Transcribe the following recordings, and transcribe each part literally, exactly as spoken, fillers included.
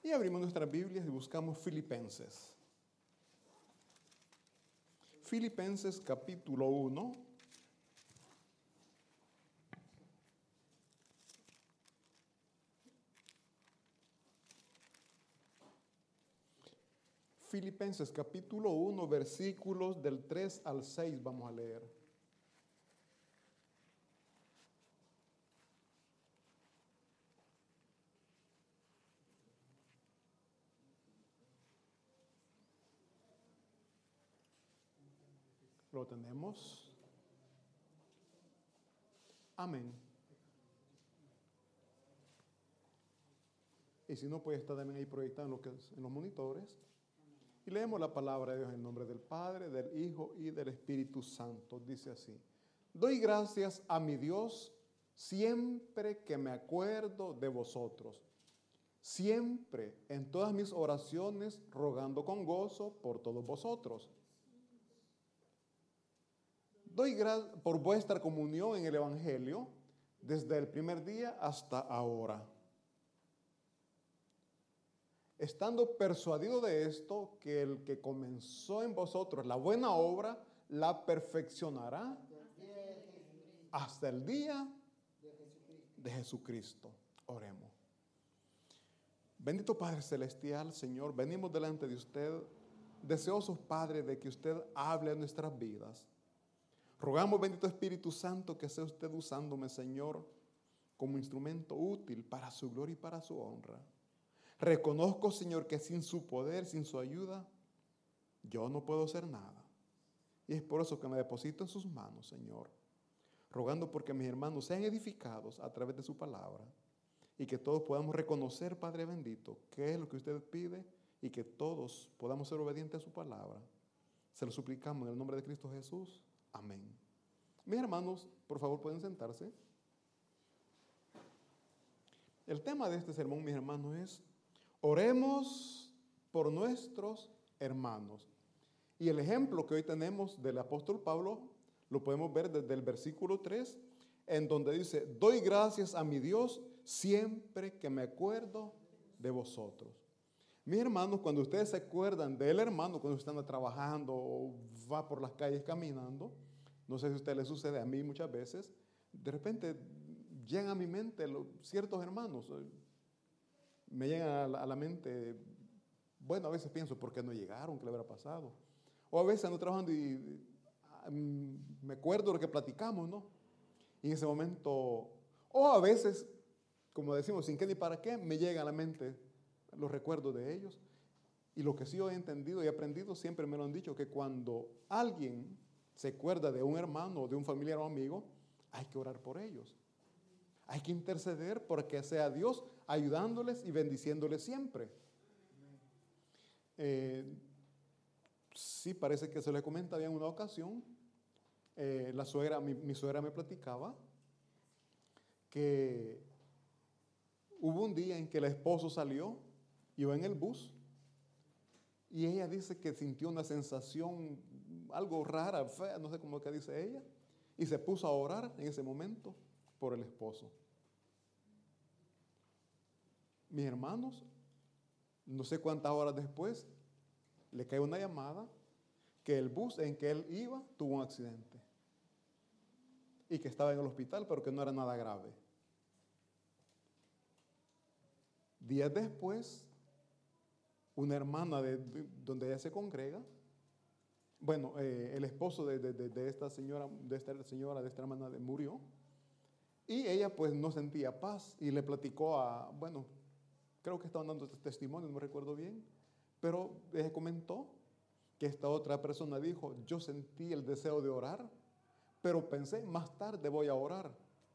Y abrimos nuestras Biblias y buscamos Filipenses. Filipenses capítulo uno. Filipenses capítulo uno, versículos del tres al seis vamos a leer. Lo tenemos. Amén. Y si no, puede estar también ahí proyectado en, lo que es, en los monitores. Y leemos la palabra de Dios en el nombre del Padre, del Hijo y del Espíritu Santo. Dice así: doy gracias a mi Dios siempre que me acuerdo de vosotros, siempre en todas mis oraciones rogando con gozo por todos vosotros. Doy gracias por vuestra comunión en el Evangelio desde el primer día hasta ahora, estando persuadido de esto, que el que comenzó en vosotros la buena obra, la perfeccionará hasta el día de Jesucristo. Oremos. Bendito Padre Celestial, Señor, venimos delante de usted, deseosos, Padre, de que usted hable a nuestras vidas. Rogamos, bendito Espíritu Santo, que sea usted usándome, Señor, como instrumento útil para su gloria y para su honra. Reconozco, Señor, que sin su poder, sin su ayuda, yo no puedo hacer nada. Y es por eso que me deposito en sus manos, Señor, rogando porque mis hermanos sean edificados a través de su palabra y que todos podamos reconocer, Padre bendito, qué es lo que usted pide y que todos podamos ser obedientes a su palabra. Se lo suplicamos en el nombre de Cristo Jesús. Amén. Mis hermanos, por favor, pueden sentarse. El tema de este sermón, mis hermanos, es: oremos por nuestros hermanos. Y el ejemplo que hoy tenemos del apóstol Pablo lo podemos ver desde el versículo tres, en donde dice: doy gracias a mi Dios siempre que me acuerdo de vosotros. Mis hermanos, cuando ustedes se acuerdan del hermano, cuando usted anda trabajando o va por las calles caminando, no sé si a usted le sucede, a mí muchas veces, de repente llegan a mi mente los, ciertos hermanos. Me llegan a la, a la mente, bueno, a veces pienso, ¿por qué no llegaron? ¿Qué le habrá pasado? O a veces ando trabajando y um, me acuerdo de lo que platicamos, ¿no? Y en ese momento, o a veces, como decimos, sin qué ni para qué, me llegan a la mente los recuerdos de ellos. Y lo que sí yo he entendido y aprendido, siempre me lo han dicho, que cuando alguien se acuerda de un hermano o de un familiar o amigo, hay que orar por ellos. Hay que interceder porque sea Dios ayudándoles y bendiciéndoles siempre. Eh, sí, parece que se le comenta bien en una ocasión. Eh, la suegra, mi, mi suegra me platicaba que hubo un día en que el esposo salió, iba en el bus, y ella dice que sintió una sensación algo rara, fea, no sé cómo que dice ella, y se puso a orar en ese momento por el esposo. Mis hermanos, no sé cuántas horas después, le cae una llamada que el bus en que él iba tuvo un accidente y que estaba en el hospital, pero que no era nada grave. Días después, una hermana de, de donde ella se congrega, bueno, eh, el esposo de, de, de esta señora, de esta señora, de esta hermana de, murió, y ella pues no sentía paz y le platicó a, bueno, creo que estaban dando testimonio, no me recuerdo bien, pero ella comentó que esta otra persona dijo: yo sentí el deseo de orar, pero pensé, más tarde voy a orar.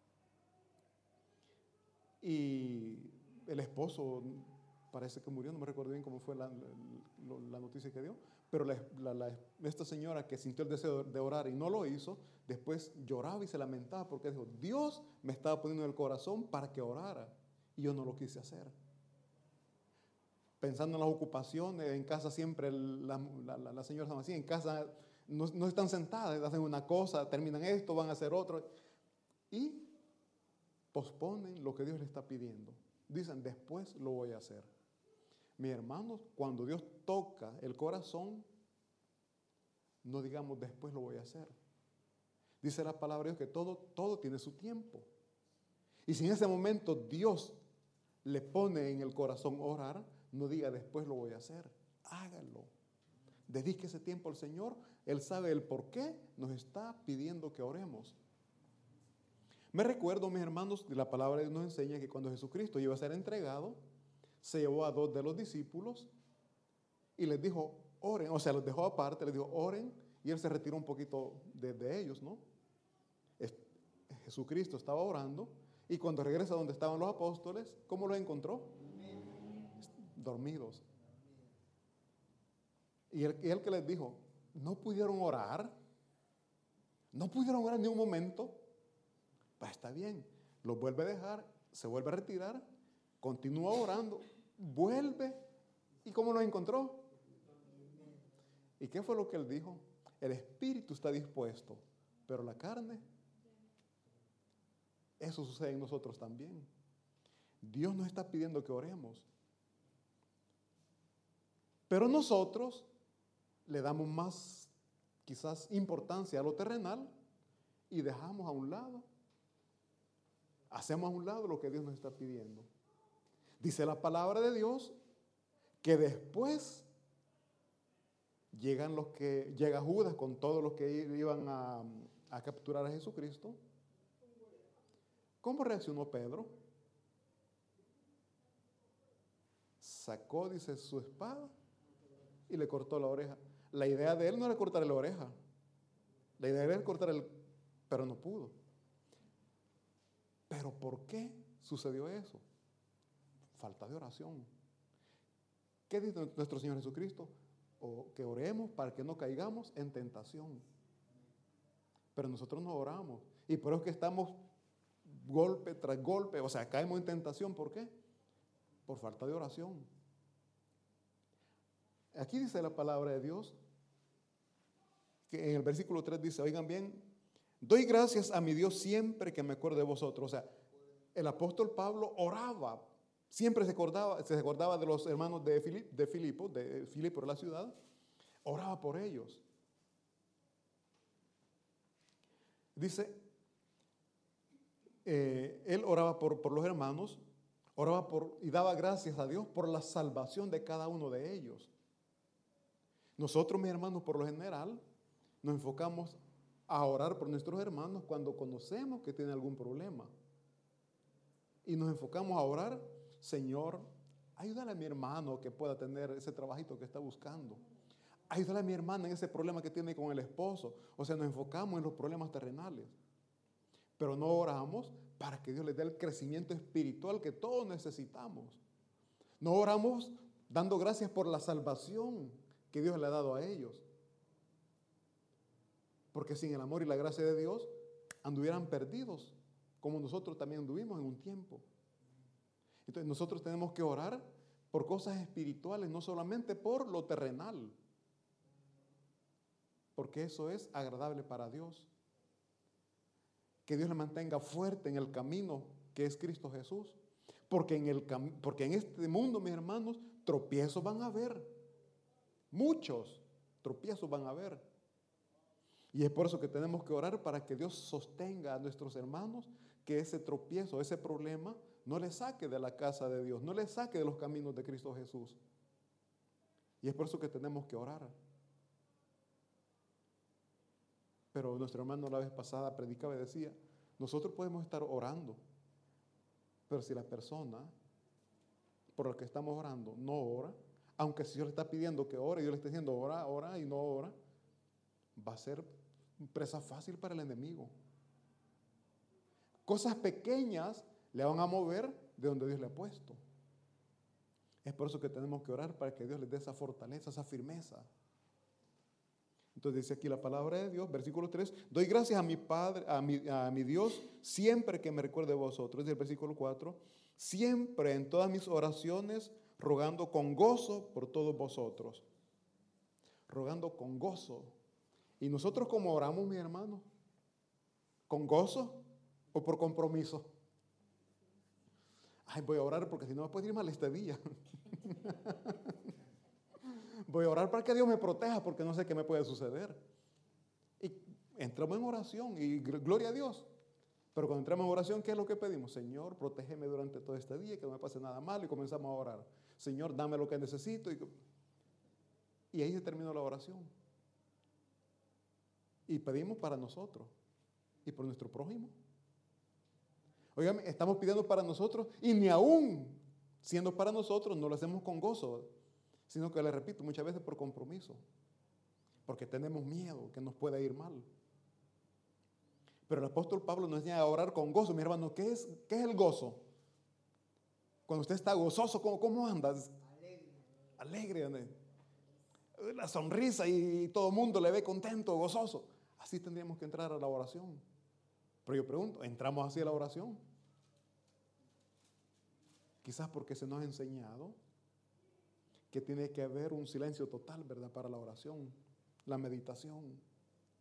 Y el esposo parece que murió, no me recuerdo bien cómo fue la, la, la noticia que dio, pero la, la, la, esta señora que sintió el deseo de orar y no lo hizo, después lloraba y se lamentaba porque dijo: Dios me estaba poniendo en el corazón para que orara y yo no lo quise hacer. Pensando en las ocupaciones, en casa siempre las la, la, la señoras son así, en casa no, no están sentadas, hacen una cosa, terminan esto, van a hacer otro y posponen lo que Dios les está pidiendo. Dicen: después lo voy a hacer. Mis hermanos, cuando Dios toca el corazón, no digamos después lo voy a hacer. Dice la palabra de Dios que todo, todo tiene su tiempo. Y si en ese momento Dios le pone en el corazón orar, no diga después lo voy a hacer. Hágalo. Dedique ese tiempo al Señor. Él sabe el por qué nos está pidiendo que oremos. Me recuerdo, mis hermanos, de la palabra de Dios nos enseña que cuando Jesucristo iba a ser entregado, se llevó a dos de los discípulos y les dijo, oren, o sea, los dejó aparte, les dijo, oren, y él se retiró un poquito de, de ellos, ¿no? Es, Jesucristo estaba orando, y cuando regresa donde estaban los apóstoles, ¿cómo los encontró? Dormidos. Y él, y él que les dijo, no pudieron orar, no pudieron orar ni un momento. Pues está bien, los vuelve a dejar, se vuelve a retirar, continúa orando, vuelve, ¿y cómo los encontró? ¿Y qué fue lo que él dijo? El espíritu está dispuesto, pero la carne, eso sucede en nosotros también. Dios nos está pidiendo que oremos, pero nosotros le damos más, quizás, importancia a lo terrenal y dejamos a un lado, hacemos a un lado lo que Dios nos está pidiendo. Dice la palabra de Dios que después llegan los que, llega Judas con todos los que iban a, a capturar a Jesucristo. ¿Cómo reaccionó Pedro? Sacó, dice, su espada y le cortó la oreja. La idea de él no era cortarle la oreja. La idea era cortar el, pero no pudo. ¿Pero por qué sucedió eso? Falta de oración. ¿Qué dice nuestro Señor Jesucristo? O que oremos para que no caigamos en tentación. Pero nosotros no oramos. Y por eso es que estamos golpe tras golpe. O sea, caemos en tentación. ¿Por qué? Por falta de oración. Aquí dice la palabra de Dios, que en el versículo tres dice, oigan bien, doy gracias a mi Dios siempre que me acuerdo de vosotros. O sea, el apóstol Pablo oraba, siempre se acordaba, se acordaba de los hermanos de, Filip, de Filipo, de Filipo de la ciudad, oraba por ellos. Dice, eh, él oraba por, por los hermanos, oraba por, y daba gracias a Dios por la salvación de cada uno de ellos. Nosotros, mis hermanos, por lo general, nos enfocamos a orar por nuestros hermanos cuando conocemos que tienen algún problema. Y nos enfocamos a orar, Señor, ayúdale a mi hermano que pueda tener ese trabajito que está buscando. Ayúdale a mi hermana en ese problema que tiene con el esposo. O sea, nos enfocamos en los problemas terrenales. Pero no oramos para que Dios les dé el crecimiento espiritual que todos necesitamos. No oramos dando gracias por la salvación que Dios le ha dado a ellos. Porque sin el amor y la gracia de Dios anduvieran perdidos, como nosotros también anduvimos en un tiempo. Entonces nosotros tenemos que orar por cosas espirituales, no solamente por lo terrenal, porque eso es agradable para Dios. Que Dios le mantenga fuerte en el camino que es Cristo Jesús. Porque en, el cam- porque en este mundo, mis hermanos, tropiezos van a haber. Muchos tropiezos van a haber. Y es por eso que tenemos que orar para que Dios sostenga a nuestros hermanos, que ese tropiezo, ese problema, no les saque de la casa de Dios, no les saque de los caminos de Cristo Jesús. Y es por eso que tenemos que orar. Pero nuestro hermano la vez pasada predicaba y decía, nosotros podemos estar orando, pero si la persona por la que estamos orando no ora, aunque si Dios le está pidiendo que ore, Dios le está diciendo ora, ora y no ora, va a ser presa fácil para el enemigo. Cosas pequeñas le van a mover de donde Dios le ha puesto. Es por eso que tenemos que orar para que Dios les dé esa fortaleza, esa firmeza. Entonces dice aquí la palabra de Dios, versículo tres, doy gracias a mi Padre, a mi, a mi Dios, siempre que me recuerde de vosotros. Dice el versículo cuatro, siempre en todas mis oraciones, rogando con gozo por todos vosotros. Rogando con gozo. ¿Y nosotros cómo oramos, mi hermano? ¿Con gozo o por compromiso? Ay, voy a orar porque si no me puede ir mal este día. Voy a orar para que Dios me proteja porque no sé qué me puede suceder. Y entramos en oración y gloria a Dios. Pero cuando entramos en oración, ¿qué es lo que pedimos? Señor, protégeme durante todo este día, que no me pase nada malo, y comenzamos a orar. Señor, dame lo que necesito. Y, y ahí se terminó la oración. Y pedimos para nosotros y por nuestro prójimo. Oigan, estamos pidiendo para nosotros y ni aún siendo para nosotros no lo hacemos con gozo, sino que, le repito, muchas veces por compromiso, porque tenemos miedo que nos pueda ir mal. Pero el apóstol Pablo nos enseña a orar con gozo. Mi hermano, ¿qué es, qué es el gozo? Cuando usted está gozoso, ¿cómo, cómo andas? Alegre. Alegre. La sonrisa y todo el mundo le ve contento, gozoso. Así tendríamos que entrar a la oración. Pero yo pregunto, ¿entramos así a la oración? Quizás porque se nos ha enseñado que tiene que haber un silencio total, ¿verdad? Para la oración, la meditación.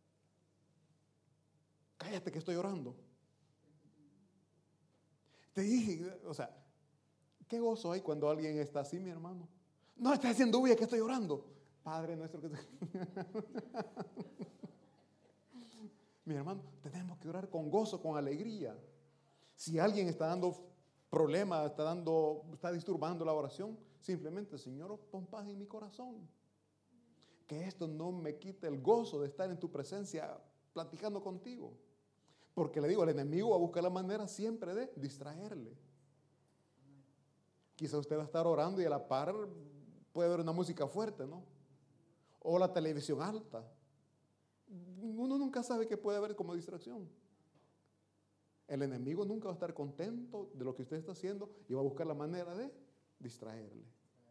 Cállate que estoy orando. Te dije, o sea, ¿qué gozo hay cuando alguien está así, mi hermano? No, está haciendo bulla que estoy orando. Padre nuestro que... Mi hermano, tenemos que orar con gozo, con alegría. Si alguien está dando problemas, está dando, está disturbando la oración, simplemente, Señor, pon paz en mi corazón. Que esto no me quite el gozo de estar en tu presencia platicando contigo. Porque le digo, el enemigo va a buscar la manera siempre de distraerle. Quizá usted va a estar orando y a la par puede ver una música fuerte, ¿no? O la televisión alta. Uno nunca sabe qué puede haber como distracción. El enemigo nunca va a estar contento de lo que usted está haciendo y va a buscar la manera de distraerle.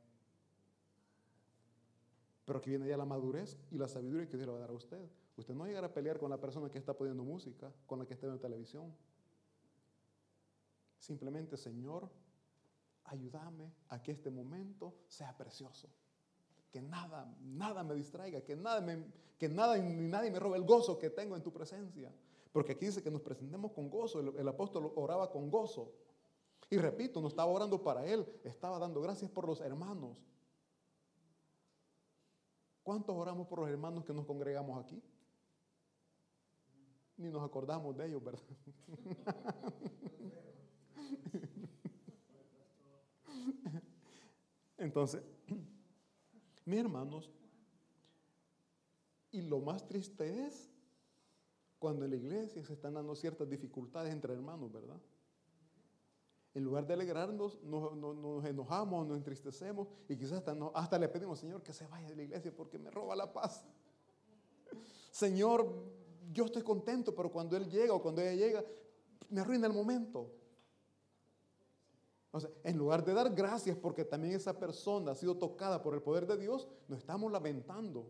Pero aquí viene ya la madurez y la sabiduría que Dios le va a dar a usted. Usted no va a llegar a pelear con la persona que está poniendo música, con la que está en la televisión. Simplemente, Señor, ayúdame a que este momento sea precioso. Que nada, nada me distraiga, que nada, me, que nada ni nadie me robe el gozo que tengo en tu presencia. Porque aquí dice que nos presentemos con gozo. El, el apóstol oraba con gozo. Y repito, no estaba orando para él, estaba dando gracias por los hermanos. ¿Cuántos oramos por los hermanos que nos congregamos aquí? Ni nos acordamos de ellos, ¿verdad? Entonces, mis hermanos, y lo más triste es cuando en la iglesia se están dando ciertas dificultades entre hermanos, ¿verdad? En lugar de alegrarnos, nos, nos, nos enojamos, nos entristecemos y quizás hasta, no, hasta le pedimos, Señor, que se vaya de la iglesia porque me roba la paz. Señor, yo estoy contento, pero cuando Él llega o cuando ella llega, me arruina el momento. O sea, en lugar de dar gracias porque también esa persona ha sido tocada por el poder de Dios, nos estamos lamentando.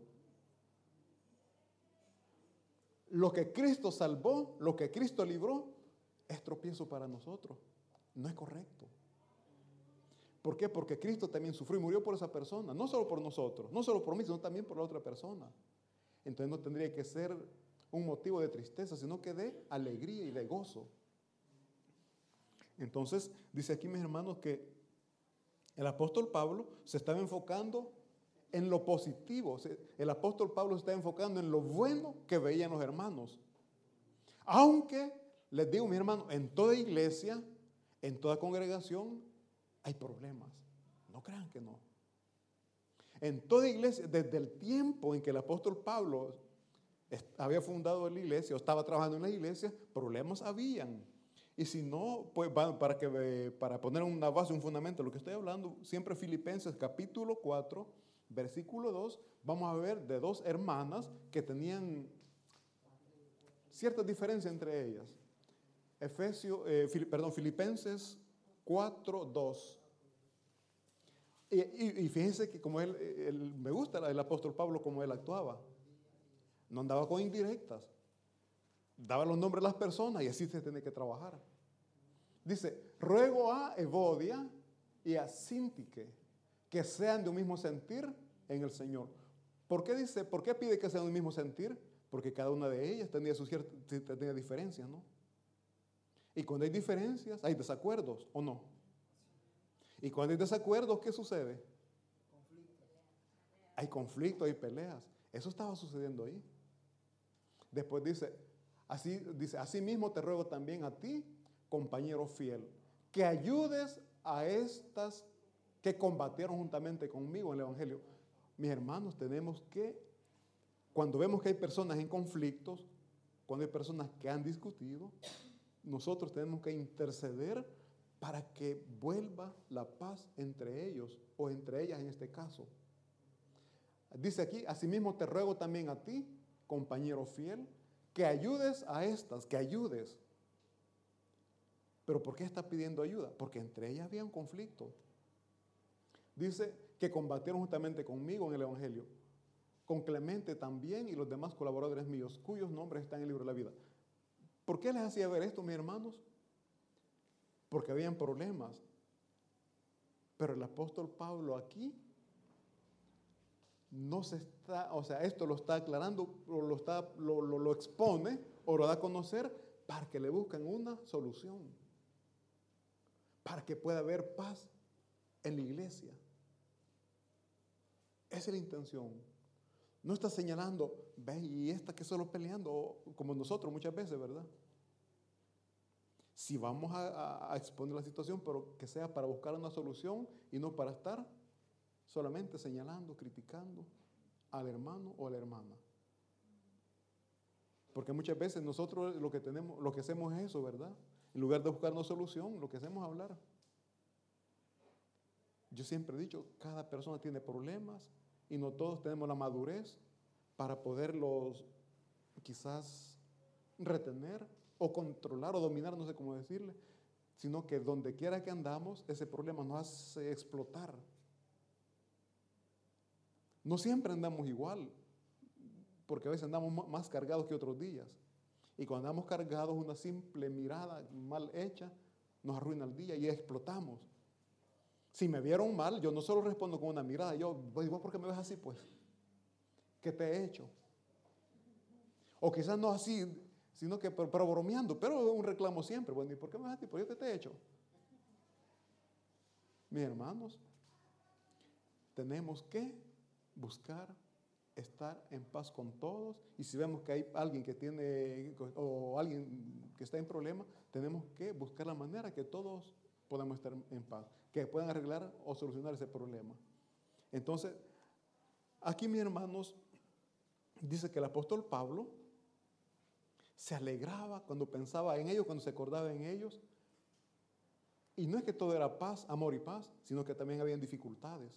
Lo que Cristo salvó, lo que Cristo libró, es tropiezo para nosotros. No es correcto. ¿Por qué? Porque Cristo también sufrió y murió por esa persona. No solo por nosotros, no solo por mí, sino también por la otra persona. Entonces no tendría que ser un motivo de tristeza, sino que de alegría y de gozo. Entonces, dice aquí, mis hermanos, que el apóstol Pablo se estaba enfocando en lo positivo. El apóstol Pablo se estaba enfocando en lo bueno que veían los hermanos. Aunque, les digo, mis hermanos, en toda iglesia, en toda congregación, hay problemas. No crean que no. En toda iglesia, desde el tiempo en que el apóstol Pablo había fundado la iglesia o estaba trabajando en la iglesia, problemas habían. Y si no, pues para, que, para poner una base, un fundamento de lo que estoy hablando, siempre Filipenses capítulo cuatro, versículo dos, vamos a ver de dos hermanas que tenían ciertas diferencias entre ellas. Efesios, eh, Fili, perdón, Filipenses cuatro, dos. Y, y, y fíjense que como él, él, me gusta el apóstol Pablo como él actuaba. No andaba con indirectas. Daba los nombres de las personas y así se tiene que trabajar. Dice, ruego a Evodia y a Síntique que sean de un mismo sentir en el Señor. ¿Por qué dice, por qué pide que sean de un mismo sentir? Porque cada una de ellas tenía, su cierta, tenía diferencias, ¿no? Y cuando hay diferencias, hay desacuerdos, ¿o no? Y cuando hay desacuerdos, ¿qué sucede? hay conflictos, hay peleas. Eso estaba sucediendo ahí. Después dice, así, dice, así mismo te ruego también a ti, compañero fiel, que ayudes a estas que combatieron juntamente conmigo en el Evangelio. Mis hermanos, tenemos que, cuando vemos que hay personas en conflictos, cuando hay personas que han discutido, nosotros tenemos que interceder para que vuelva la paz entre ellos, o entre ellas en este caso. Dice aquí, asimismo te ruego también a ti, compañero fiel, que ayudes a estas, que ayudes. ¿Pero por qué está pidiendo ayuda? Porque entre ellas había un conflicto. Dice que combatieron justamente conmigo en el Evangelio, con Clemente también y los demás colaboradores míos, cuyos nombres están en el libro de la vida. ¿Por qué les hacía ver esto, mis hermanos? Porque habían problemas. Pero el apóstol Pablo aquí no se está, o sea, esto lo está aclarando, o lo, está, lo, lo, lo expone, o lo da a conocer para que le busquen una solución, para que pueda haber paz en la iglesia. Esa es la intención. No está señalando, ve, y esta que solo peleando, como nosotros muchas veces, ¿verdad? Si vamos a, a, a exponer la situación, pero que sea para buscar una solución y no para estar solamente señalando, criticando al hermano o a la hermana. Porque muchas veces nosotros lo que tenemos, lo que hacemos es eso, ¿verdad? En lugar de buscar una solución, lo que hacemos es hablar. Yo siempre he dicho, cada persona tiene problemas y no todos tenemos la madurez para poderlos quizás retener o controlar o dominar, no sé cómo decirle, sino que donde quiera que andamos, ese problema nos hace explotar. No siempre andamos igual, porque a veces andamos más cargados que otros días. Y cuando andamos cargados, una simple mirada mal hecha nos arruina el día y explotamos. Si me vieron mal, yo no solo respondo con una mirada, yo, ¿vos por qué me ves así, pues? ¿Qué te he hecho? O quizás no así, sino que pero, pero bromeando, pero un reclamo siempre. Bueno, ¿y por qué me ves así? ¿Por qué te he hecho? Mis hermanos, tenemos que buscar estar en paz con todos, y si vemos que hay alguien que tiene, o alguien que está en problema, tenemos que buscar la manera que todos podamos estar en paz, que puedan arreglar o solucionar ese problema. Entonces, aquí, mis hermanos, dice que el apóstol Pablo se alegraba cuando pensaba en ellos, cuando se acordaba en ellos, y no es que todo era paz, amor y paz, sino que también habían dificultades.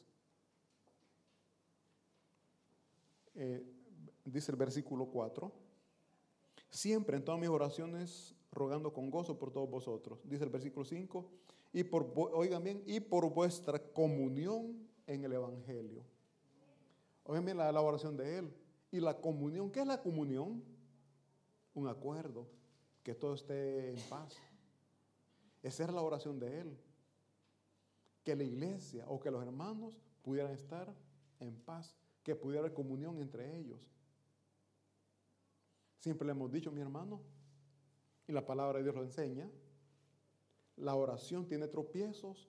Eh, dice el versículo cuatro, siempre en todas mis oraciones rogando con gozo por todos vosotros. Dice el versículo cinco, y por, oigan bien, y por vuestra comunión en el Evangelio. Oigan bien la, la oración de él. Y la comunión, ¿qué es la comunión? Un acuerdo, que todo esté en paz. Esa era la oración de él. Que la iglesia o que los hermanos pudieran estar en paz, que pudiera haber comunión entre ellos. Siempre le hemos dicho, mi hermano, y la palabra de Dios lo enseña, la oración tiene tropiezos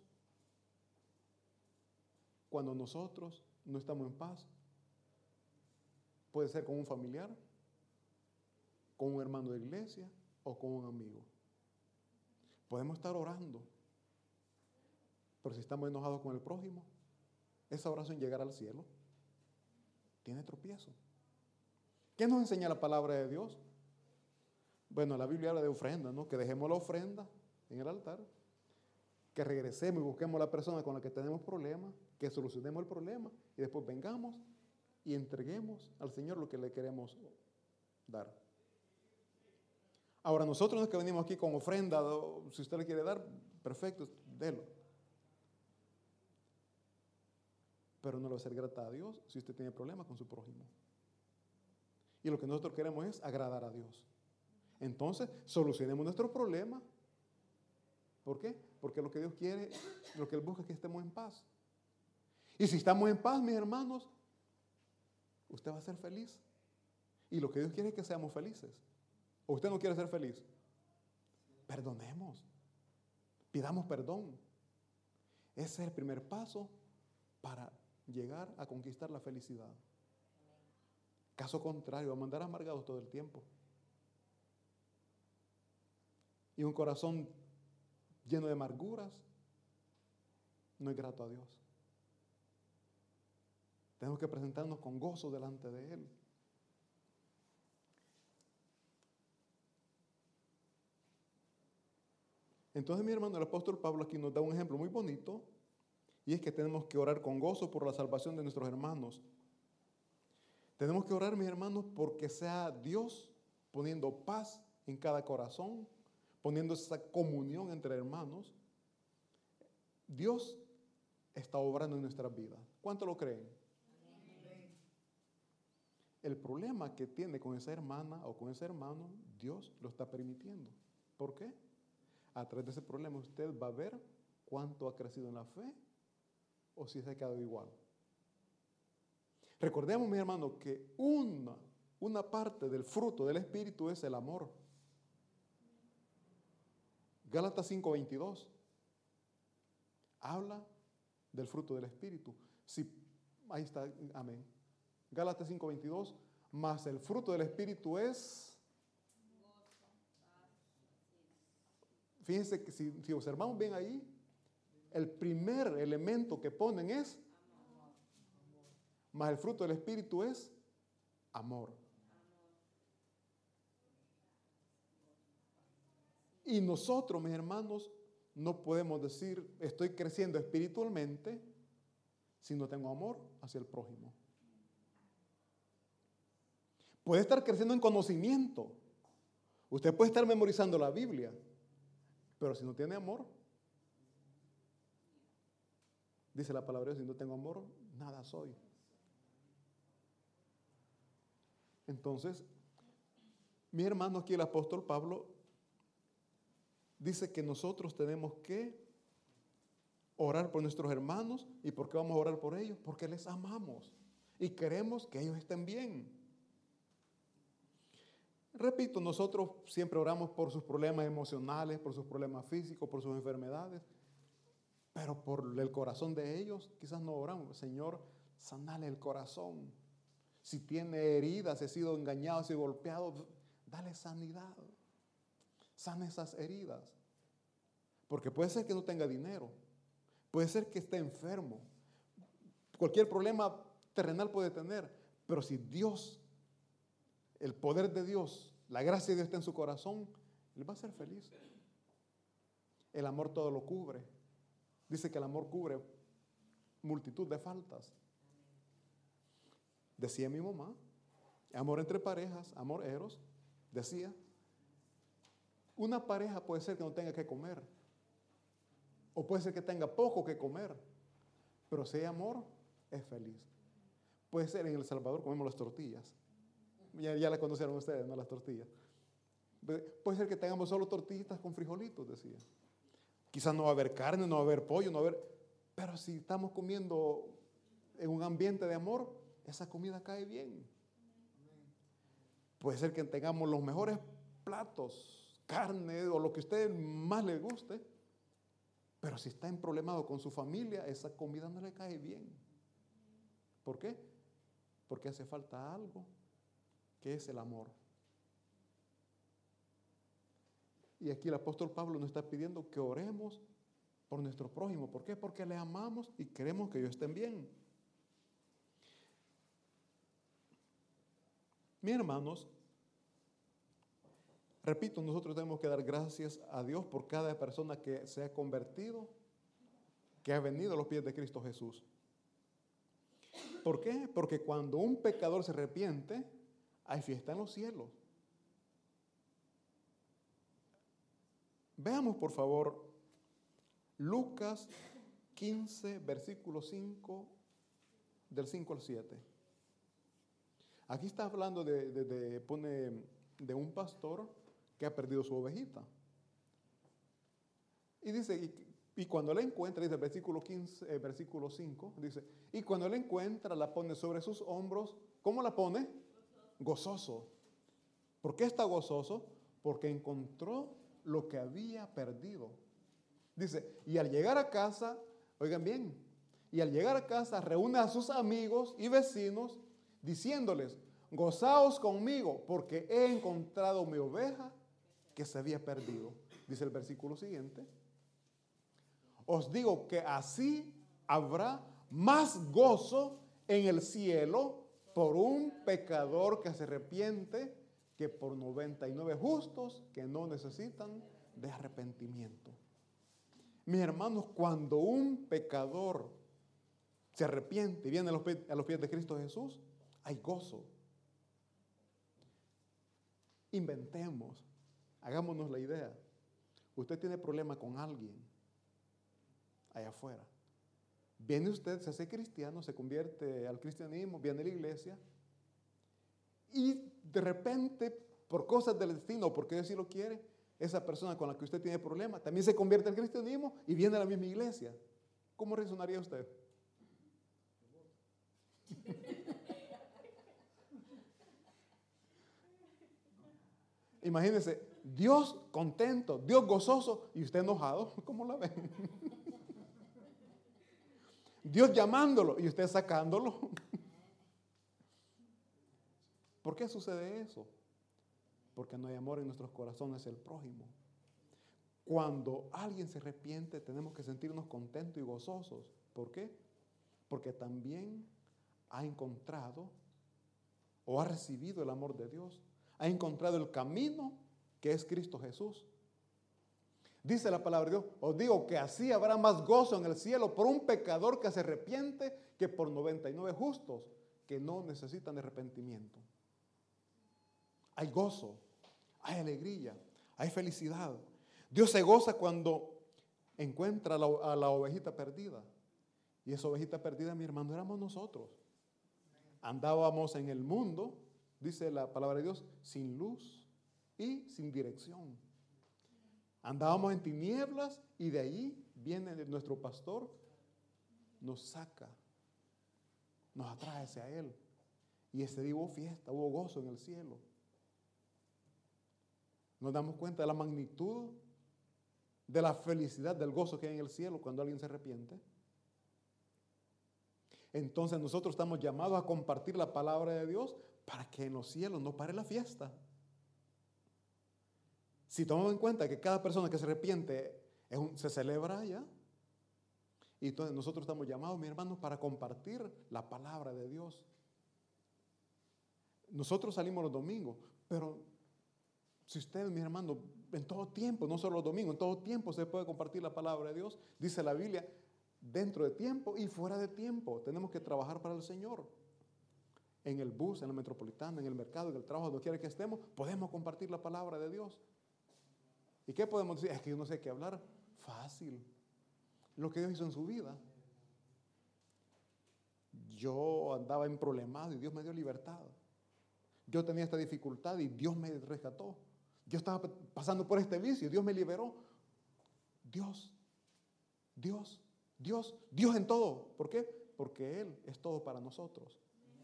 cuando nosotros no estamos en paz. Puede ser con un familiar, con un hermano de iglesia o con un amigo. Podemos estar orando, pero si estamos enojados con el prójimo, esa oración llegará al cielo. Tiene tropiezo. ¿Qué nos enseña la palabra de Dios? Bueno, la Biblia habla de ofrenda, ¿no? Que dejemos la ofrenda en el altar, que regresemos y busquemos a la persona con la que tenemos problemas, que solucionemos el problema y después vengamos y entreguemos al Señor lo que le queremos dar. Ahora, nosotros no es que venimos aquí con ofrenda, si usted le quiere dar, perfecto, délo. Pero no le va a ser grata a Dios si usted tiene problemas con su prójimo. Y lo que nosotros queremos es agradar a Dios. Entonces, solucionemos nuestros problemas. ¿Por qué? Porque lo que Dios quiere, lo que Él busca es que estemos en paz. Y si estamos en paz, mis hermanos, usted va a ser feliz. Y lo que Dios quiere es que seamos felices. ¿O usted no quiere ser feliz? Perdonemos. Pidamos perdón. Ese es el primer paso para llegar a conquistar la felicidad. Caso contrario, vamos a andar amargados todo el tiempo. Y un corazón lleno de amarguras no es grato a Dios. Tenemos que presentarnos con gozo delante de Él. Entonces, mi hermano, el apóstol Pablo aquí nos da un ejemplo muy bonito, y es que tenemos que orar con gozo por la salvación de nuestros hermanos. Tenemos que orar, mis hermanos, porque sea Dios poniendo paz en cada corazón, poniendo esa comunión entre hermanos. Dios está obrando en nuestras vidas. ¿Cuánto lo creen? Amén. El problema que tiene con esa hermana o con ese hermano, Dios lo está permitiendo. ¿Por qué? A través de ese problema usted va a ver cuánto ha crecido en la fe o si se ha quedado igual. Recordemos, mi hermano, que una, una parte del fruto del Espíritu es el amor. Gálatas cinco veintidós habla del fruto del Espíritu. Si, ahí está, amén. Gálatas cinco veintidós, más el fruto del Espíritu es... Fíjense que si, si observamos bien ahí, el primer elemento que ponen es amor. Más el fruto del Espíritu es amor. amor. Y nosotros, mis hermanos, no podemos decir estoy creciendo espiritualmente si no tengo amor hacia el prójimo. Puede estar creciendo en conocimiento. Usted puede estar memorizando la Biblia, pero si no tiene amor, dice la palabra de Dios, si no tengo amor, nada soy. Entonces, mi hermano, aquí el apóstol Pablo dice que nosotros tenemos que orar por nuestros hermanos. ¿Y por qué vamos a orar por ellos? Porque les amamos y queremos que ellos estén bien. Repito, nosotros siempre oramos por sus problemas emocionales, por sus problemas físicos, por sus enfermedades, pero por el corazón de ellos quizás no oramos. Señor, sanale el corazón. Si tiene heridas, si ha sido engañado, si ha sido golpeado, dale sanidad. Sana esas heridas. Porque puede ser que no tenga dinero, puede ser que esté enfermo, cualquier problema terrenal puede tener, pero si Dios, el poder de Dios, la gracia de Dios está en su corazón, Él va a ser feliz. El amor todo lo cubre. Dice que el amor cubre multitud de faltas. Decía mi mamá, amor entre parejas, amor eros, decía, una pareja puede ser que no tenga que comer, o puede ser que tenga poco que comer, pero si hay amor, es feliz. Puede ser en El Salvador comemos las tortillas. Ya, ya las conocieron ustedes, ¿no? Las tortillas. Puede ser que tengamos solo tortillitas con frijolitos, decía. Quizás no va a haber carne, no va a haber pollo, no va a haber... Pero si estamos comiendo en un ambiente de amor, esa comida cae bien. Puede ser que tengamos los mejores platos, carne o lo que a usted más le guste, pero si está emproblemado con su familia, esa comida no le cae bien. ¿Por qué? Porque hace falta algo, que es el amor. Y aquí el apóstol Pablo nos está pidiendo que oremos por nuestro prójimo. ¿Por qué? Porque le amamos y queremos que ellos estén bien. Mis hermanos, repito, nosotros tenemos que dar gracias a Dios por cada persona que se ha convertido, que ha venido a los pies de Cristo Jesús. ¿Por qué? Porque cuando un pecador se arrepiente, hay fiesta en los cielos. Veamos, por favor, Lucas quince, versículo cinco, del cinco al siete. Aquí está hablando de, de, de, pone, de un pastor que ha perdido su ovejita. Y dice, y, y cuando la encuentra, dice el versículo quince, eh, versículo cinco, dice, y cuando la encuentra, la pone sobre sus hombros. ¿Cómo la pone? Gozoso. ¿Por qué está gozoso? Porque encontró lo que había perdido. Dice, y al llegar a casa, oigan bien, y al llegar a casa reúne a sus amigos y vecinos diciéndoles: gozaos conmigo porque he encontrado mi oveja que se había perdido. Dice el versículo siguiente: os digo que así habrá más gozo en el cielo por un pecador que se arrepiente que por noventa y nueve justos que no necesitan de arrepentimiento. Mis hermanos, cuando un pecador se arrepiente y viene a los pies, a los pies de Cristo Jesús, hay gozo. Inventemos, hagámonos la idea. Usted tiene problema con alguien allá afuera. Viene usted, se hace cristiano, se convierte al cristianismo, viene a la iglesia y de repente, por cosas del destino, o porque Dios sí lo quiere, esa persona con la que usted tiene problema también se convierte al cristianismo y viene a la misma iglesia. ¿Cómo reaccionaría usted? Imagínese, Dios contento, Dios gozoso y usted enojado. ¿Cómo la ven? Dios llamándolo y usted sacándolo. ¿Por qué sucede eso? Porque no hay amor en nuestros corazones el prójimo. Cuando alguien se arrepiente, tenemos que sentirnos contentos y gozosos. ¿Por qué? Porque también ha encontrado o ha recibido el amor de Dios. Ha encontrado el camino que es Cristo Jesús. Dice la palabra de Dios: os digo que así habrá más gozo en el cielo por un pecador que se arrepiente que por noventa y nueve justos que no necesitan de arrepentimiento. Hay gozo, hay alegría, hay felicidad. Dios se goza cuando encuentra a la, a la ovejita perdida. Y esa ovejita perdida, mi hermano, éramos nosotros. Andábamos en el mundo, dice la palabra de Dios, sin luz y sin dirección. Andábamos en tinieblas y de ahí viene nuestro pastor, nos saca, nos atrae hacia Él. Y ese día hubo fiesta, hubo gozo en el cielo. Nos damos cuenta de la magnitud, de la felicidad, del gozo que hay en el cielo cuando alguien se arrepiente. Entonces nosotros estamos llamados a compartir la palabra de Dios para que en los cielos no pare la fiesta. Si tomamos en cuenta que cada persona que se arrepiente es un, se celebra allá, y entonces nosotros estamos llamados, mis hermanos, para compartir la palabra de Dios. Nosotros salimos los domingos, pero si ustedes, mis hermanos, en todo tiempo, no solo los domingos, en todo tiempo se puede compartir la palabra de Dios. Dice la Biblia, dentro de tiempo y fuera de tiempo, tenemos que trabajar para el Señor. En el bus, en la metropolitana, en el mercado, en el trabajo, donde quiera que estemos, podemos compartir la palabra de Dios. ¿Y qué podemos decir? Es que yo no sé qué hablar. Fácil. Lo que Dios hizo en su vida. Yo andaba en problemas y Dios me dio libertad. Yo tenía esta dificultad y Dios me rescató. Yo estaba pasando por este vicio y Dios me liberó. Dios, Dios, Dios, Dios en todo. ¿Por qué? Porque Él es todo para nosotros.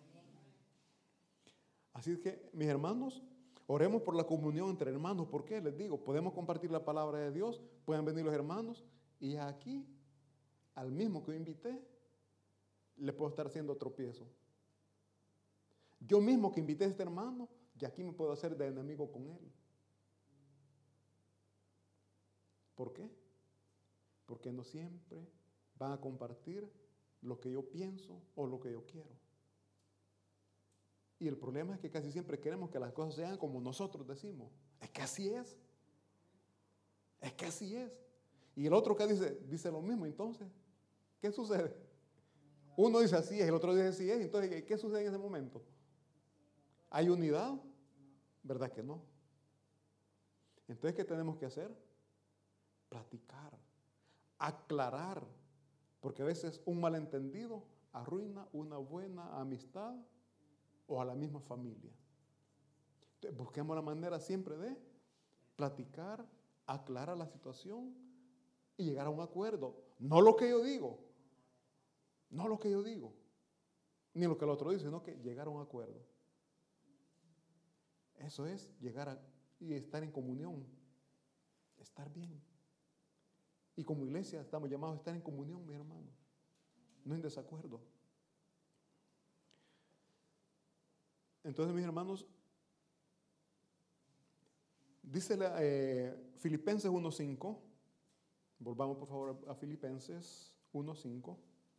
Así que, mis hermanos, oremos por la comunión entre hermanos. ¿Por qué? Les digo, podemos compartir la palabra de Dios, pueden venir los hermanos, y aquí, al mismo que yo invité, le puedo estar haciendo tropiezo. Yo mismo que invité a este hermano, y aquí me puedo hacer de enemigo con él. ¿Por qué? Porque no siempre van a compartir lo que yo pienso o lo que yo quiero. Y el problema es que casi siempre queremos que las cosas sean como nosotros decimos. Es que así es. Es que así es. Y el otro que dice, dice lo mismo. Entonces, ¿qué sucede? Uno dice así es, el otro dice así es. Entonces, ¿qué sucede en ese momento? ¿Hay unidad? ¿Verdad que no? Entonces, ¿qué tenemos que hacer? Platicar, aclarar. Porque a veces un malentendido arruina una buena amistad o a la misma familia. Entonces, busquemos la manera siempre de platicar, aclarar la situación y llegar a un acuerdo. No lo que yo digo, no lo que yo digo, ni lo que el otro dice, sino que llegar a un acuerdo. Eso es llegar a y estar en comunión, estar bien. Y como iglesia estamos llamados a estar en comunión, mis hermanos. no en desacuerdo. Entonces, mis hermanos, dice la, eh, Filipenses uno cinco, volvamos por favor a Filipenses uno cinco.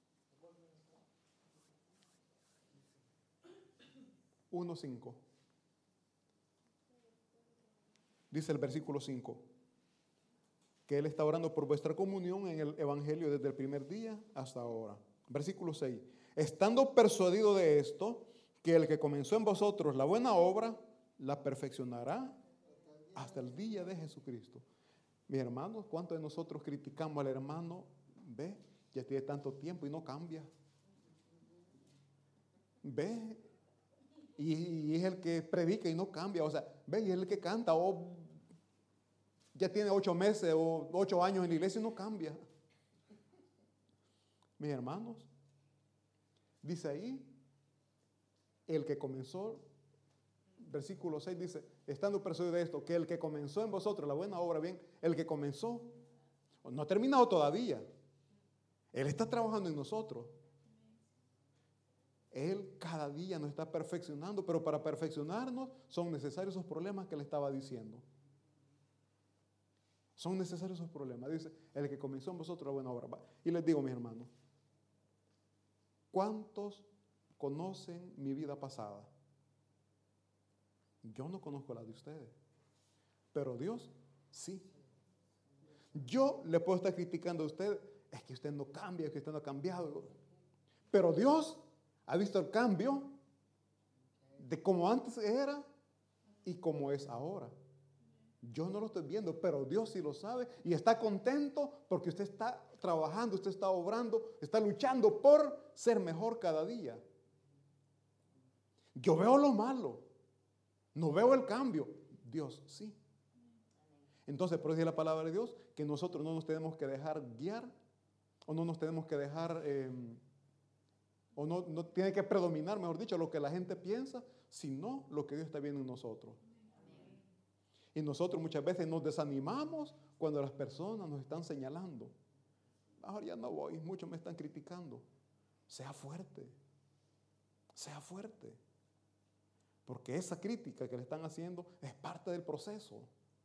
uno cinco. Dice el versículo cinco, que Él está orando por vuestra comunión en el Evangelio desde el primer día hasta ahora. Versículo seis, estando persuadido de esto, que el que comenzó en vosotros la buena obra, la perfeccionará hasta el día de Jesucristo. Mis hermanos, ¿cuántos de nosotros criticamos al hermano? Ve, ya tiene tanto tiempo y no cambia. Ve, y, y es el que predica y no cambia. O sea, ve, y es el que canta, o ya tiene ocho meses o ocho años en la iglesia y no cambia. Mis hermanos, dice ahí, el que comenzó, versículo seis dice, estando persuadido de esto, que el que comenzó en vosotros la buena obra, bien, el que comenzó, no ha terminado todavía. Él está trabajando en nosotros. Él cada día nos está perfeccionando, pero para perfeccionarnos son necesarios esos problemas que le estaba diciendo. Son necesarios esos problemas. Dice, el que comenzó en vosotros la buena obra. Y les digo, mis hermanos, ¿cuántos conocen mi vida pasada? Yo no conozco la de ustedes, pero Dios sí. Yo le puedo estar criticando a usted, es que usted no cambia, es que usted no ha cambiado, pero Dios ha visto el cambio de cómo antes era y cómo es ahora. Yo no lo estoy viendo, pero Dios sí lo sabe y está contento porque usted está trabajando, usted está obrando, está luchando por ser mejor cada día. Yo veo lo malo, no veo el cambio. Dios sí. Entonces, por eso dice la palabra de Dios que nosotros no nos tenemos que dejar guiar o no nos tenemos que dejar, eh, o no, no tiene que predominar, mejor dicho, lo que la gente piensa, sino lo que Dios está viendo en nosotros. Y nosotros muchas veces nos desanimamos cuando las personas nos están señalando. Ahora ya no voy, muchos me están criticando. Sea fuerte, sea fuerte. Porque esa crítica que le están haciendo es parte del proceso.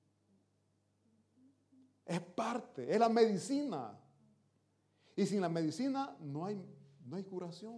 Es parte, es la medicina. Y sin la medicina no hay, no hay curación.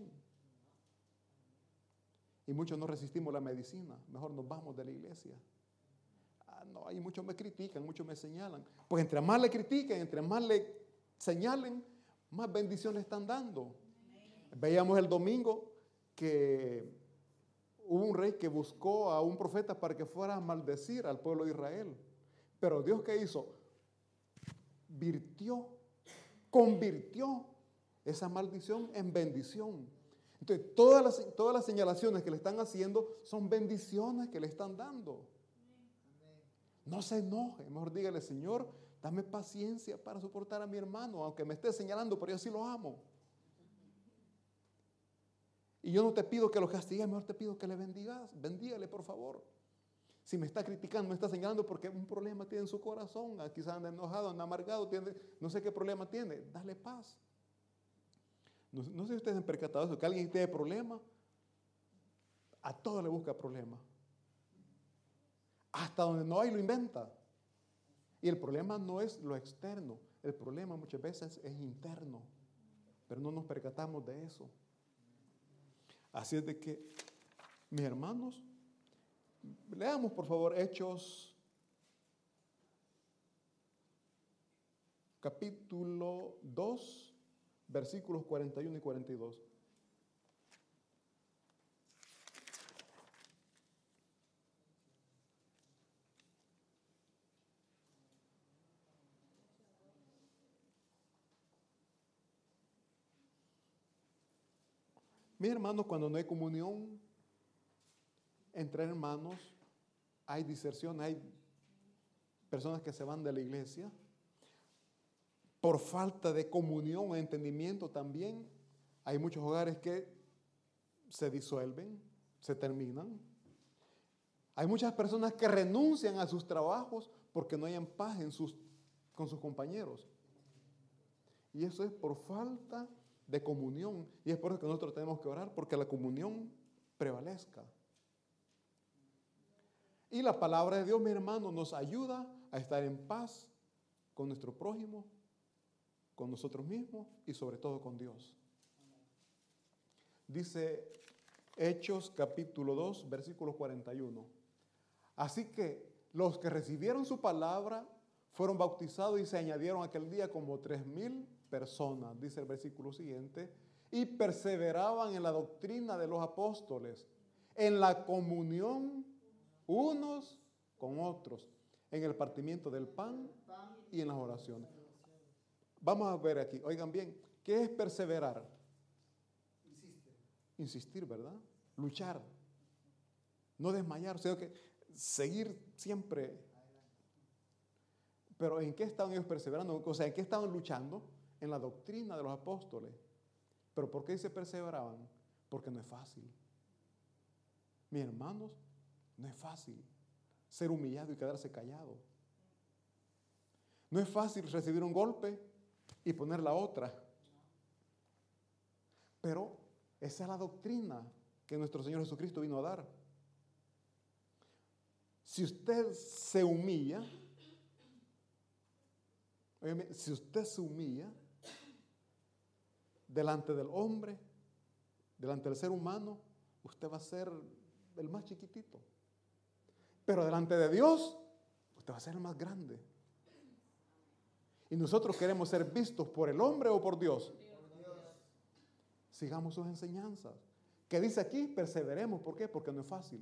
Y muchos no resistimos la medicina. Mejor nos vamos de la iglesia. Ah, no, y muchos me critican, muchos me señalan. Pues entre más le critiquen, entre más le señalen, más bendición le están dando. Veíamos el domingo que hubo un rey que buscó a un profeta para que fuera a maldecir al pueblo de Israel. Pero Dios, ¿qué hizo? Virtió, convirtió esa maldición en bendición. Entonces, todas las, todas las señalaciones que le están haciendo son bendiciones que le están dando. No se enoje, mejor dígale, Señor, dame paciencia para soportar a mi hermano, aunque me esté señalando, pero yo sí lo amo. Y yo no te pido que lo castigues, mejor te pido que le bendigas, bendígale por favor. Si me está criticando, me está señalando porque un problema tiene en su corazón, quizás anda enojado, anda amargado, tiene, no sé qué problema tiene, dale paz. No, no sé si ustedes han percatado eso, que alguien tiene problema, a todo le busca problema. Hasta donde no hay lo inventa. Y el problema no es lo externo, el problema muchas veces es interno, pero no nos percatamos de eso. Así es de que, mis hermanos, leamos por favor Hechos capítulo dos, versículos cuarenta y uno y cuarenta y dos. Mis hermanos, cuando no hay comunión entre hermanos, hay diserción, hay personas que se van de la iglesia por falta de comunión o entendimiento también. Hay muchos hogares que se disuelven, se terminan. Hay muchas personas que renuncian a sus trabajos porque no hay paz en sus, con sus compañeros. Y eso es por falta de comunión. Y es por eso que nosotros tenemos que orar, porque la comunión prevalezca. Y la palabra de Dios, mi hermano, nos ayuda a estar en paz con nuestro prójimo, con nosotros mismos y sobre todo con Dios. Dice Hechos capítulo dos, versículo cuarenta y uno. Así que los que recibieron su palabra fueron bautizados y se añadieron aquel día como tres mil personas, dice el versículo siguiente, y perseveraban en la doctrina de los apóstoles, en la comunión unos con otros, en el partimiento del pan y en las oraciones. Vamos a ver aquí, oigan bien, ¿qué es perseverar? Insiste. Insistir, ¿verdad? Luchar, no desmayar, sino que seguir siempre. Pero ¿en qué estaban ellos perseverando? O sea, ¿en qué estaban luchando? En la doctrina de los apóstoles. ¿Pero por qué se perseveraban? Porque no es fácil. Mis hermanos, no es fácil ser humillado y quedarse callado. No es fácil recibir un golpe y poner la otra. Pero esa es la doctrina que nuestro Señor Jesucristo vino a dar. Si usted se humilla, óyeme, si usted se humilla delante del hombre, delante del ser humano, usted va a ser el más chiquitito. Pero delante de Dios, usted va a ser el más grande. Y nosotros queremos ser vistos por el hombre o por Dios. Por Dios. Sigamos sus enseñanzas. ¿Qué dice aquí? Perseveremos. ¿Por qué? Porque no es fácil.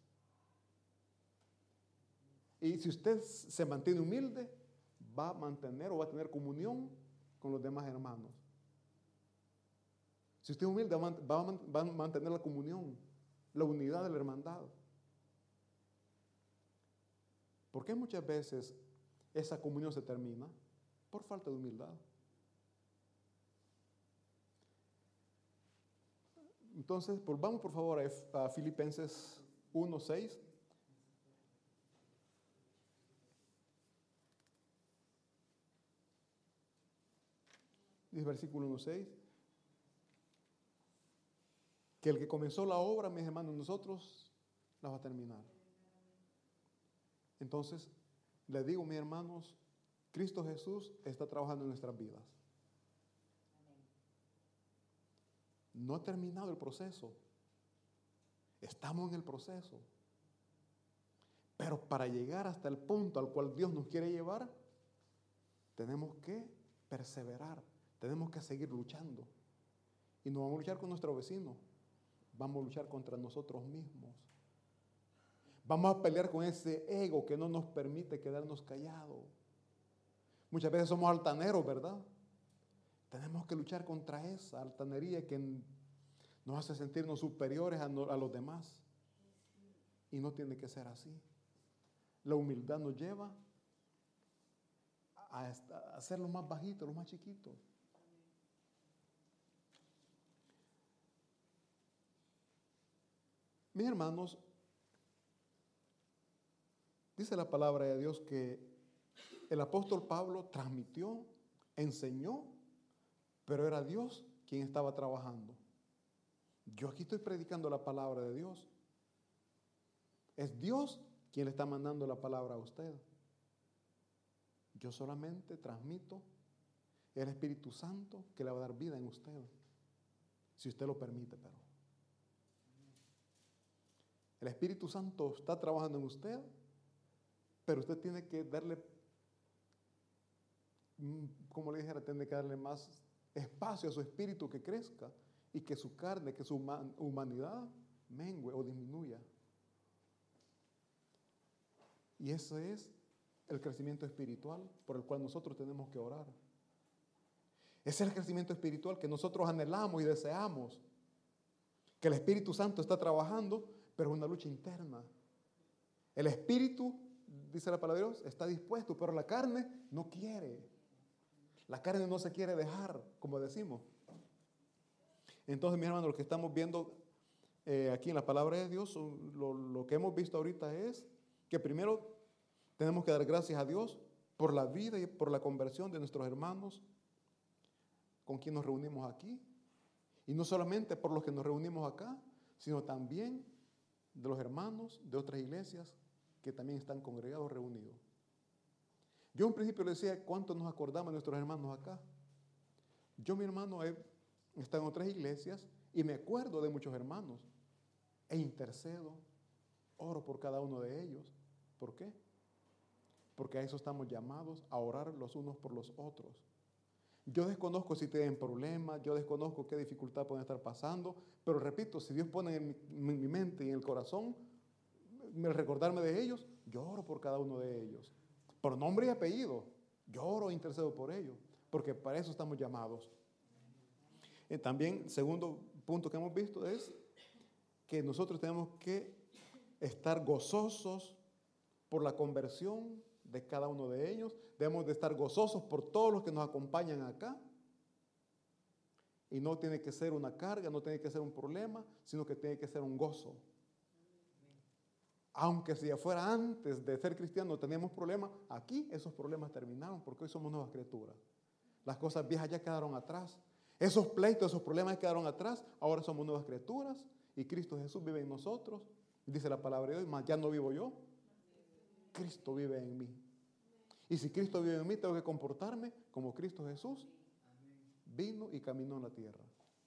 Y si usted se mantiene humilde, va a mantener o va a tener comunión con los demás hermanos. Si usted es humilde, va a mantener la comunión, la unidad de la hermandad. ¿Por qué muchas veces esa comunión se termina? Por falta de humildad. Entonces, volvamos por favor a Filipenses uno seis. Dice versículo uno seis. Que el que comenzó la obra, mis hermanos, nosotros la va a terminar. Entonces, les digo, mis hermanos, Cristo Jesús está trabajando en nuestras vidas. No ha terminado el proceso. Estamos en el proceso. Pero para llegar hasta el punto al cual Dios nos quiere llevar, tenemos que perseverar. Tenemos que seguir luchando. Y no vamos a luchar con nuestro vecino. Vamos a luchar contra nosotros mismos. Vamos a pelear con ese ego que no nos permite quedarnos callados. Muchas veces somos altaneros, ¿verdad? Tenemos que luchar contra esa altanería que nos hace sentirnos superiores a, no, a los demás. Y no tiene que ser así. La humildad nos lleva a, a ser los más bajitos, los más chiquitos. Mis hermanos, dice la palabra de Dios que el apóstol Pablo transmitió, enseñó, pero era Dios quien estaba trabajando. Yo aquí estoy predicando la palabra de Dios. Es Dios quien le está mandando la palabra a usted. Yo solamente transmito el Espíritu Santo que le va a dar vida en usted, si usted lo permite, pero. El Espíritu Santo está trabajando en usted, pero usted tiene que darle, como le dijera, tiene que darle más espacio a su espíritu que crezca y que su carne, que su humanidad mengue o disminuya. Y ese es el crecimiento espiritual por el cual nosotros tenemos que orar. Ese es el crecimiento espiritual que nosotros anhelamos y deseamos. Que el Espíritu Santo está trabajando, pero es una lucha interna. El espíritu, dice la palabra de Dios, está dispuesto, pero la carne no quiere. La carne no se quiere dejar, como decimos. Entonces, mi hermano, lo que estamos viendo eh, aquí en la palabra de Dios, lo, lo que hemos visto ahorita es que primero tenemos que dar gracias a Dios por la vida y por la conversión de nuestros hermanos con quien nos reunimos aquí. Y no solamente por los que nos reunimos acá, sino también de los hermanos de otras iglesias que también están congregados, reunidos. Yo en principio le decía, ¿cuánto nos acordamos de nuestros hermanos acá? Yo, mi hermano, he estado en otras iglesias y me acuerdo de muchos hermanos e intercedo, oro por cada uno de ellos. ¿Por qué? Porque a eso estamos llamados, a orar los unos por los otros. Yo desconozco si tienen problemas, yo desconozco qué dificultad pueden estar pasando, pero repito, si Dios pone en mi, en mi mente y en el corazón el recordarme de ellos, yo oro por cada uno de ellos. Por nombre y apellido, yo oro e intercedo por ellos, porque para eso estamos llamados. Y también, segundo punto que hemos visto es que nosotros tenemos que estar gozosos por la conversión de cada uno de ellos. Debemos de estar gozosos por todos los que nos acompañan acá. Y no tiene que ser una carga, no tiene que ser un problema, sino que tiene que ser un gozo. Aunque si ya fuera antes de ser cristiano teníamos problemas, aquí esos problemas terminaron porque hoy somos nuevas criaturas. Las cosas viejas ya quedaron atrás. Esos pleitos, esos problemas quedaron atrás. Ahora somos nuevas criaturas y Cristo Jesús vive en nosotros. Dice la palabra de Dios, mas ya no vivo yo, Cristo vive en mí. Y si Cristo vive en mí, tengo que comportarme como Cristo Jesús vino y caminó en la tierra.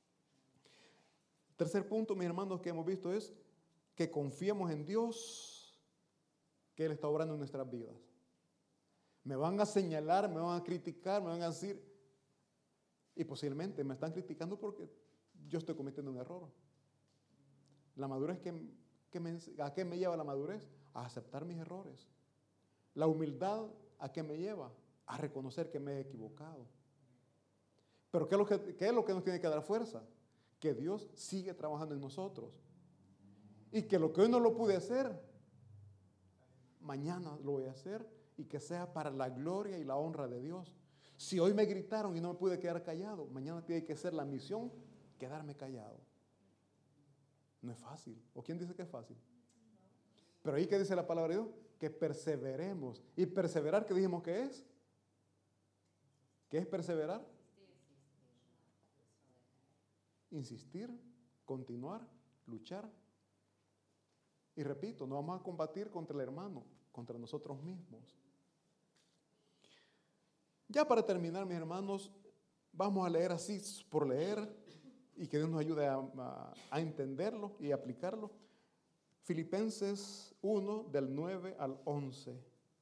Tercer punto, mis hermanos, que hemos visto es que confiemos en Dios, que Él está obrando en nuestras vidas. Me van a señalar, me van a criticar, me van a decir, y posiblemente me están criticando porque yo estoy cometiendo un error. La madurez, que, que me, ¿a qué me lleva la madurez? A aceptar mis errores. La humildad, ¿a qué me lleva? A reconocer que me he equivocado. Pero ¿qué es lo que, qué es lo que nos tiene que dar fuerza? Que Dios sigue trabajando en nosotros. Y que lo que hoy no lo pude hacer, mañana lo voy a hacer y que sea para la gloria y la honra de Dios. Si hoy me gritaron y no me pude quedar callado, mañana tiene que ser la misión quedarme callado. No es fácil. ¿O quién dice que es fácil? Pero ahí que dice la palabra de Dios, que perseveremos. ¿Y perseverar qué dijimos que es? ¿Qué es perseverar? Insistir, continuar, luchar. Y repito, no vamos a combatir contra el hermano, contra nosotros mismos. Ya para terminar, mis hermanos, vamos a leer así por leer y que Dios nos ayude a, a, a entenderlo y aplicarlo. Filipenses uno, del nueve al once.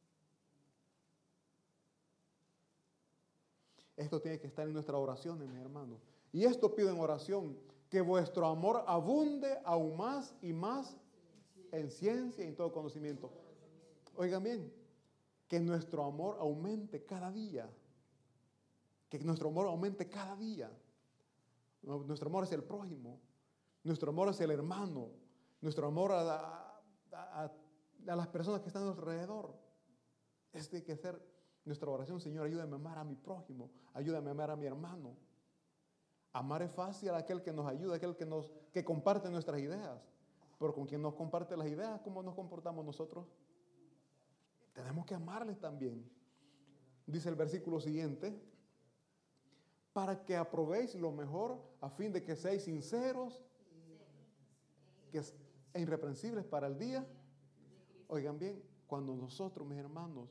Esto tiene que estar en nuestras oraciones, mis hermanos. Y esto pido en oración, que vuestro amor abunde aún más y más en ciencia y en todo conocimiento. Oigan bien, que nuestro amor aumente cada día. Que nuestro amor aumente cada día. Nuestro amor hacia el prójimo. Nuestro amor hacia el hermano. Nuestro amor a, a, a, a las personas que están a nuestro alrededor. Este tiene que ser nuestra oración. Señor, ayúdame a amar a mi prójimo. Ayúdame a amar a mi hermano. Amar es fácil a aquel que nos ayuda, aquel que, nos, que comparte nuestras ideas. Pero con quien nos comparte las ideas, ¿cómo nos comportamos nosotros? Tenemos que amarles también. Dice el versículo siguiente, para que aprobéis lo mejor a fin de que seáis sinceros que es, e irreprensibles para el día. Oigan bien, cuando nosotros, mis hermanos,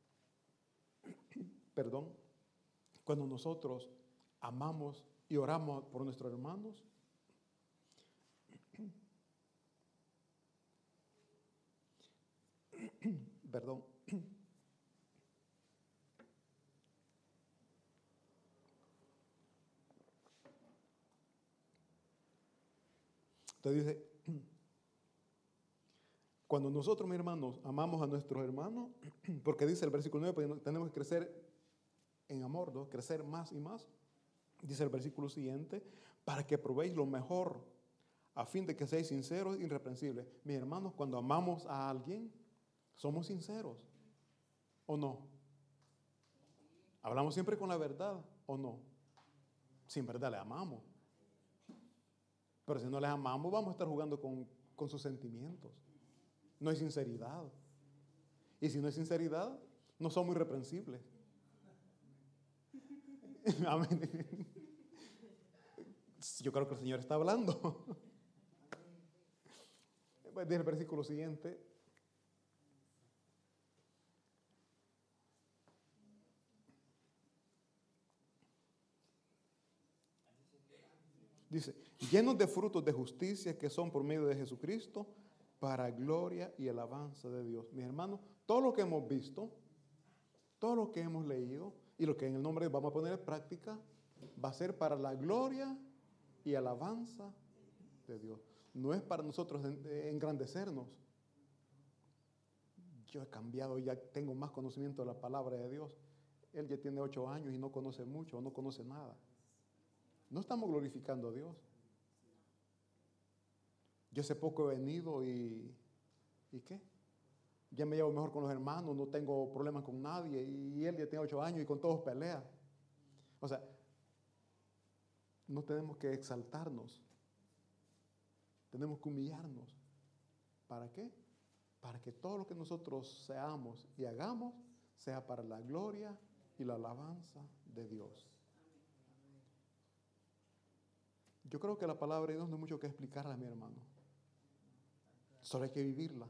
perdón, cuando nosotros amamos y oramos por nuestros hermanos, perdón, entonces dice, cuando nosotros, mis hermanos, amamos a nuestros hermanos, porque dice el versículo nueve, porque tenemos que crecer en amor, ¿no? Crecer más y más. Dice el versículo siguiente, para que probéis lo mejor, a fin de que seáis sinceros e irreprensibles. Mis hermanos, cuando amamos a alguien, somos sinceros, ¿o no? Hablamos siempre con la verdad, ¿o no? Sin verdad le amamos. Pero si no les amamos, vamos a estar jugando con, con sus sentimientos. No hay sinceridad. Y si no hay sinceridad, no somos irreprensibles. Amén. Yo creo que el Señor está hablando. Dice el versículo siguiente. Dice, llenos de frutos de justicia que son por medio de Jesucristo, para gloria y alabanza de Dios. Mis hermanos, todo lo que hemos visto, todo lo que hemos leído y lo que en el nombre vamos a poner en práctica, va a ser para la gloria y alabanza de Dios. No es para nosotros engrandecernos. Yo he cambiado, ya tengo más conocimiento de la palabra de Dios. Él ya tiene ocho años y no conoce mucho, no conoce nada. No estamos glorificando a Dios. Yo hace poco he venido y, ¿y qué? Ya me llevo mejor con los hermanos, no tengo problemas con nadie, y él ya tiene ocho años y con todos pelea. O sea, no tenemos que exaltarnos, tenemos que humillarnos. ¿Para qué? Para que todo lo que nosotros seamos y hagamos sea para la gloria y la alabanza de Dios. Yo creo que la palabra de Dios no hay mucho que explicarla, mi hermano. Solo hay que vivirla.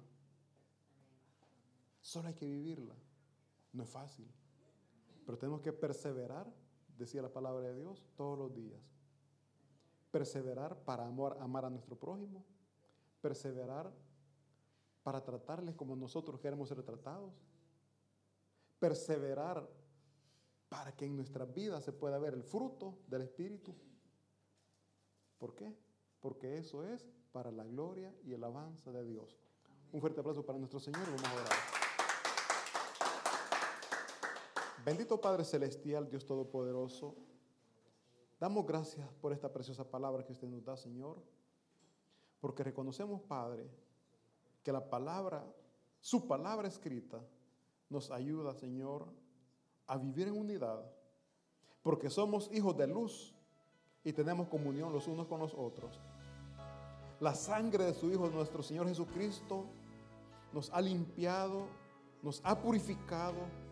Solo hay que vivirla. No es fácil. Pero tenemos que perseverar, decía la palabra de Dios, todos los días. Perseverar para amor, amar a nuestro prójimo. Perseverar para tratarles como nosotros queremos ser tratados. Perseverar para que en nuestras vidas se pueda ver el fruto del Espíritu. ¿Por qué? Porque eso es para la gloria y alabanza de Dios. Un fuerte aplauso para nuestro Señor. Vamos a orar. Bendito Padre Celestial, Dios Todopoderoso, damos gracias por esta preciosa palabra que usted nos da, Señor, porque reconocemos, Padre, que la palabra, su palabra escrita, nos ayuda, Señor, a vivir en unidad, porque somos hijos de luz y tenemos comunión los unos con los otros. La sangre de su Hijo, nuestro Señor Jesucristo, nos ha limpiado, nos ha purificado